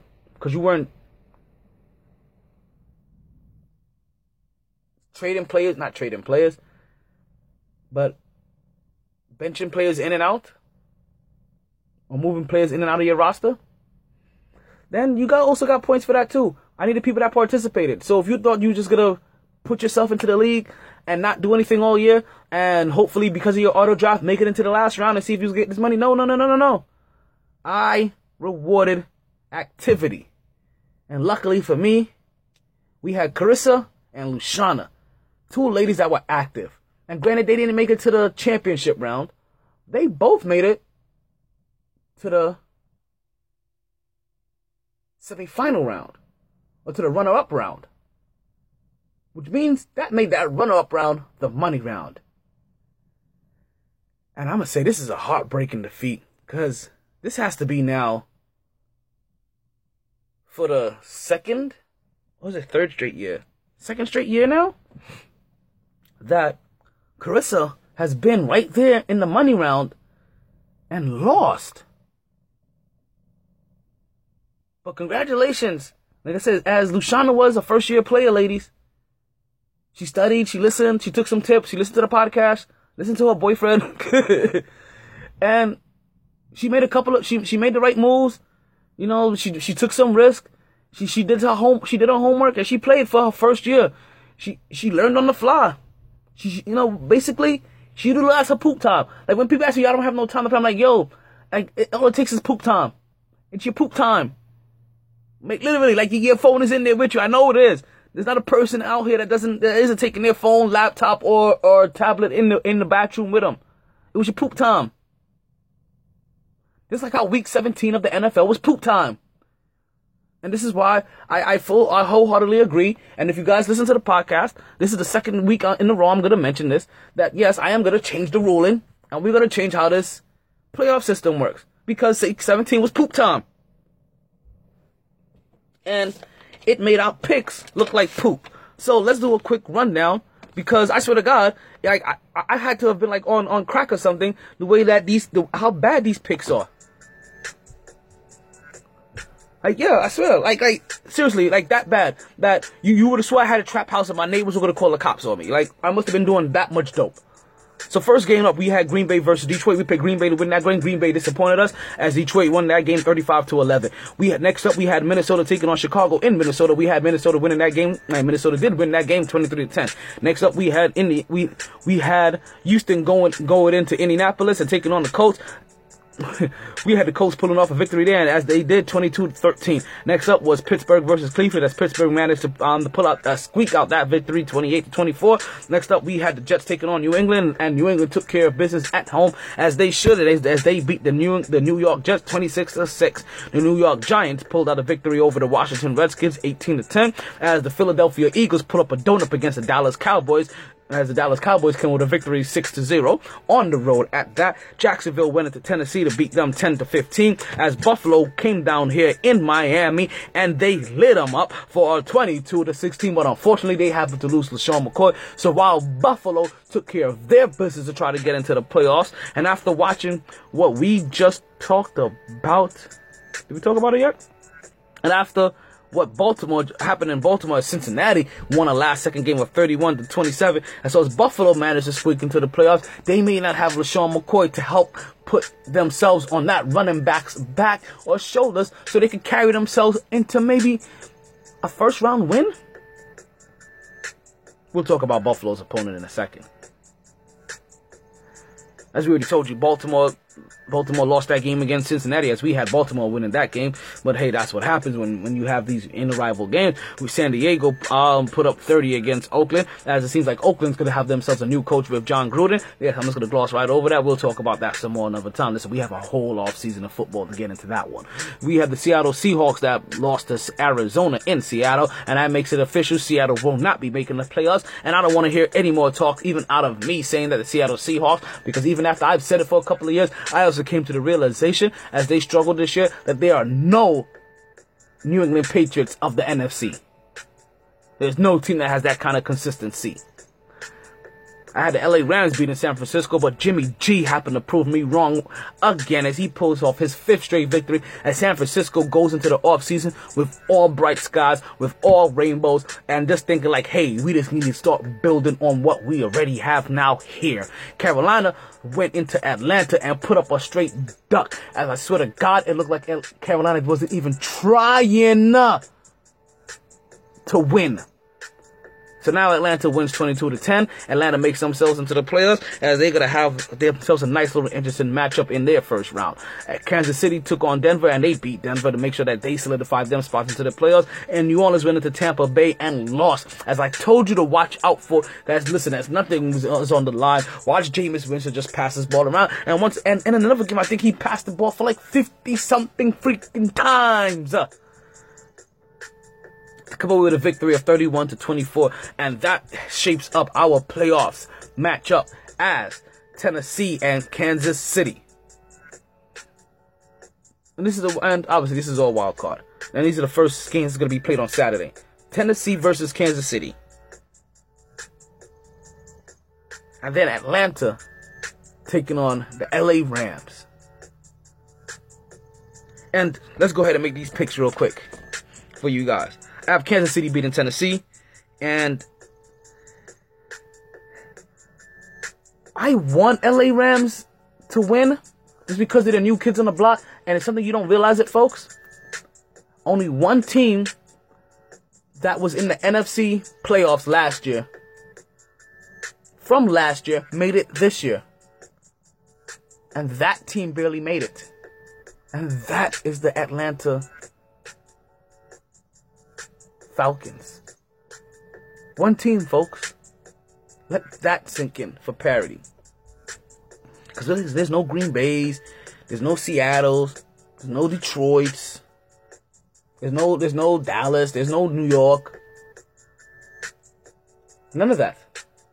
not trading players, but benching players in and out, or moving players in and out of your roster, then you also got points for that too. I need the people that participated. So if you thought you were just gonna put yourself into the league and not do anything all year, and hopefully because of your auto draft make it into the last round and see if you get this money, no. I rewarded activity, and luckily for me, we had Carissa and Luciana, two ladies that were active. And granted, they didn't make it to the championship round. They both made it to the semi-final round, or to the runner-up round. Which means that made that runner-up round the money round. And I'm going to say this is a heartbreaking defeat, because this has to be now for the second straight year now that Carissa has been right there in the money round and lost. But congratulations. Like I said, as Luciana was a first-year player, ladies. She studied, she listened, she took some tips, she listened to the podcast, listened to her boyfriend. And she made she made the right moves. You know, she took some risk. She did her homework, and she played for her first year. She learned on the fly. She basically, she utilized her poop time. Like, when people ask me, I don't have no time to play, I'm like, yo, all it takes is poop time. It's your poop time. Literally, like, your phone is in there with you. I know it is. There's not a person out here that isn't taking their phone, laptop, or tablet in the bathroom with them. It was your poop time. Just like how week 17 of the NFL was poop time. And this is why I wholeheartedly agree. And if you guys listen to the podcast, this is the second week in a row I'm going to mention this, that yes, I am going to change the ruling, and we're going to change how this playoff system works. Because week 17 was poop time. And it made our picks look like poop. So let's do a quick rundown, because I swear to God, I had to have been like on crack or something, the way that how bad these picks are. Like, yeah, I swear, like seriously, like that bad, that you would have swore I had a trap house and my neighbors were gonna call the cops on me. Like, I must have been doing that much dope. So first game up, we had Green Bay versus Detroit. We picked Green Bay to win that game. Green Bay disappointed us as Detroit won that game 35-11. Next up, we had Minnesota taking on Chicago in Minnesota. We had Minnesota winning that game. Minnesota did win that game 23-10. Next up, we had we had Houston going into Indianapolis and taking on the Colts. We had the Colts pulling off a victory there, and as they did, 22-13. Next up was Pittsburgh versus Cleveland, as Pittsburgh managed to squeak out that victory, 28-24. Next up, we had the Jets taking on New England, and New England took care of business at home, as they should, as they beat the New York Jets 26-6. The New York Giants pulled out a victory over the Washington Redskins, 18-10, as the Philadelphia Eagles put up a donut against the Dallas Cowboys, as the Dallas Cowboys came with a victory 6-0 on the road at that. Jacksonville went into Tennessee to beat them 10-15, as Buffalo came down here in Miami and they lit them up for a 22-16, but unfortunately they happened to lose LaShawn McCoy. So while Buffalo took care of their business to try to get into the playoffs, and after watching what we just talked about, did we talk about it yet? And after what happened in Baltimore, Cincinnati won a last-second game of 31-27, and so as Buffalo managed to squeak into the playoffs, they may not have LaShawn McCoy to help put themselves on that running back's back or shoulders so they can carry themselves into maybe a first-round win. We'll talk about Buffalo's opponent in a second. As we already told you, Baltimore lost that game against Cincinnati, as we had Baltimore winning that game. But hey, that's what happens when you have these inter-rival games. With San Diego put up 30 against Oakland, as it seems like Oakland's going to have themselves a new coach with John Gruden. Yes, I'm just going to gloss right over that. We'll talk about that some more another time. Listen, we have a whole off season of football to get into that one. We have the Seattle Seahawks that lost to Arizona in Seattle, and that makes it official. Seattle will not be making the playoffs, and I don't want to hear any more talk even out of me saying that the Seattle Seahawks, because even after I've said it for a couple of years, I also came to the realization as they struggled this year that there are no New England Patriots of the NFC. There's no team that has that kind of consistency. I had the LA Rams beating San Francisco, but Jimmy G happened to prove me wrong again as he pulls off his 5th straight victory as San Francisco goes into the offseason with all bright skies, with all rainbows, and just thinking like, hey, we just need to start building on what we already have now here. Carolina went into Atlanta and put up a straight duck, as I swear to God, it looked like Carolina wasn't even trying to win. So now Atlanta wins 22-10. Atlanta makes themselves into the playoffs, as they're going to have themselves a nice little interesting matchup in their first round. Kansas City took on Denver, and they beat Denver to make sure that they solidified them spots into the playoffs. And New Orleans went into Tampa Bay and lost. As I told you to watch out for, that's nothing is on the line. Watch Jameis Winston just pass this ball around. And in another game, I think he passed the ball for like 50-something freaking times. To come away with a victory of 31-24, and that shapes up our playoffs matchup as Tennessee and Kansas City. And obviously this is all wild card. And these are the first games that's going to be played on Saturday. Tennessee versus Kansas City. And then Atlanta taking on the LA Rams. And let's go ahead and make these picks real quick for you guys. I have Kansas City beating Tennessee, and I want LA Rams to win just because they're the new kids on the block, and it's something you don't realize it, folks. Only one team that was in the NFC playoffs last year, from last year, made it this year. And that team barely made it. And that is the Atlanta Falcons. One team, folks. Let that sink in for parity. Because there's no Green Bays, there's no Seattles, there's no Detroits, there's no Dallas, there's no New York. None of that.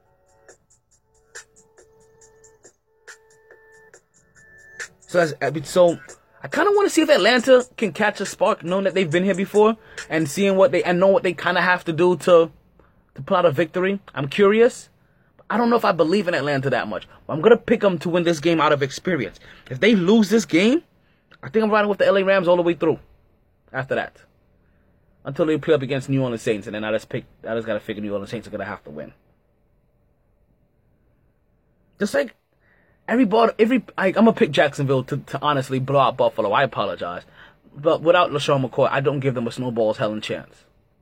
So I kind of want to see if Atlanta can catch a spark, knowing that they've been here before and seeing know what they kind of have to do to pull out a victory. I'm curious. I don't know if I believe in Atlanta that much. But I'm going to pick them to win this game out of experience. If they lose this game, I think I'm riding with the LA Rams all the way through after that. Until they play up against New Orleans Saints. And then I just got to figure New Orleans Saints are going to have to win. Just like I'm going to pick Jacksonville to honestly blow out Buffalo. I apologize. But without LaShawn McCoy, I don't give them a snowball's hell and chance.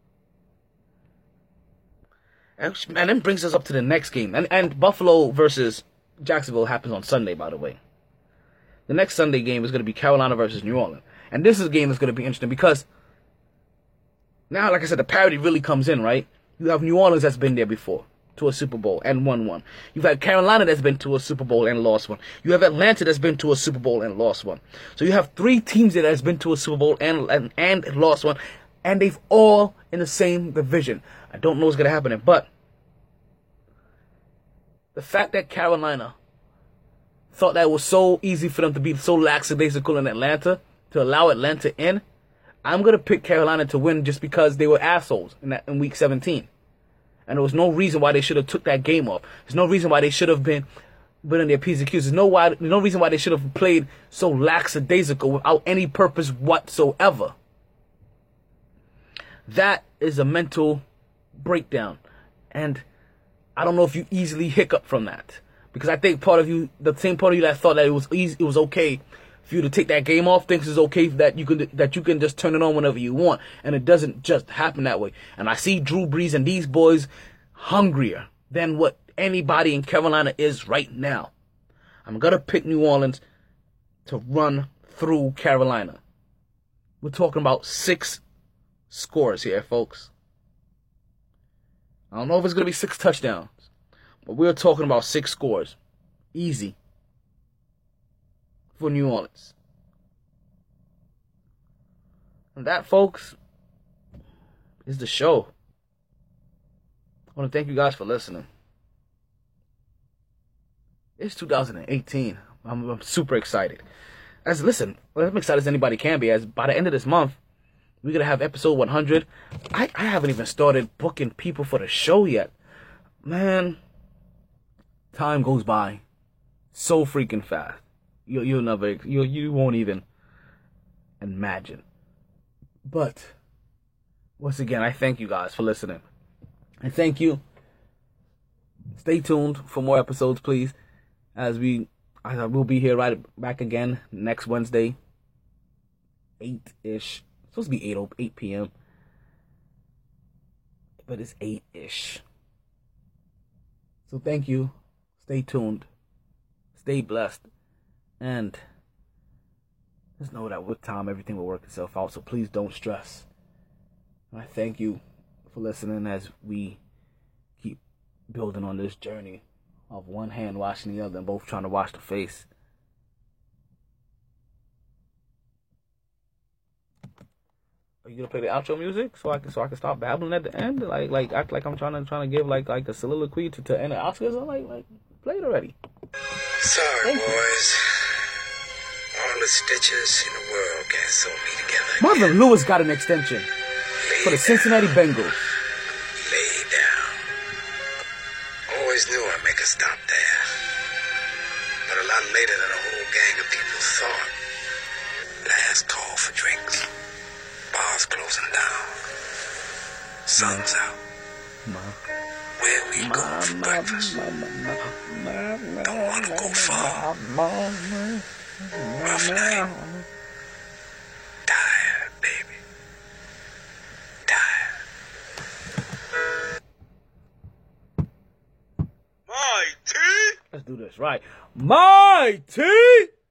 And then brings us up to the next game. And Buffalo versus Jacksonville happens on Sunday, by the way. The next Sunday game is going to be Carolina versus New Orleans. And this is a game that's going to be interesting because now, like I said, the parity really comes in, right? You have New Orleans that's been there before to a Super Bowl and won one. You've had Carolina that's been to a Super Bowl and lost one. You have Atlanta that's been to a Super Bowl and lost one. So you have three teams that has been to a Super Bowl and lost one. And they've all in the same division. I don't know what's going to happen there, but the fact that Carolina thought that it was so easy for them to be so lackadaisical in Atlanta, to allow Atlanta in, I'm going to pick Carolina to win just because they were assholes in Week 17. And there was no reason why they should have took that game off. There's no reason why they should have been in their P's and Q's. There's no reason why they should have played so lackadaisical without any purpose whatsoever. That is a mental breakdown. And I don't know if you easily hiccup from that. Because I think the same part of you that thought that it was okay for you to take that game off, thinks it's okay that you can just turn it on whenever you want. And it doesn't just happen that way. And I see Drew Brees and these boys hungrier than what anybody in Carolina is right now. I'm going to pick New Orleans to run through Carolina. We're talking about 6 scores here, folks. I don't know if it's going to be 6 touchdowns, but we're talking about 6 scores. Easy. For New Orleans. And that, folks, is the show. I want to thank you guys for listening. It's 2018. I'm super excited. I'm excited as anybody can be, as by the end of this month, we're going to have episode 100. I haven't even started booking people for the show yet. Man, time goes by so freaking fast. You won't even imagine. But once again, I thank you guys for listening. And thank you. Stay tuned for more episodes, please. We'll be here right back again next Wednesday, 8-ish. It's supposed to be 8 p.m. But it's 8-ish. So thank you. Stay tuned. Stay blessed. And just know that with time, everything will work itself out. So please don't stress. And I thank you for listening as we keep building on this journey of one hand washing the other and both trying to wash the face. Are you gonna play the outro music so I can stop babbling at the end? Like act like I'm trying to give like a soliloquy to end the Oscars? I'm like play it already. Sorry, boys. All the stitches in the world can't sew me together. Marvin Lewis got an extension for the Cincinnati Bengals. Lay down. Always knew I'd make a stop there. But a lot later than a whole gang of people thought. Last call for drinks. Bars closing down. Sun's out. Where we going for breakfast? Don't want to go far. Rough night. Tired, baby. Tired. My tea? Let's do this, right? My tea!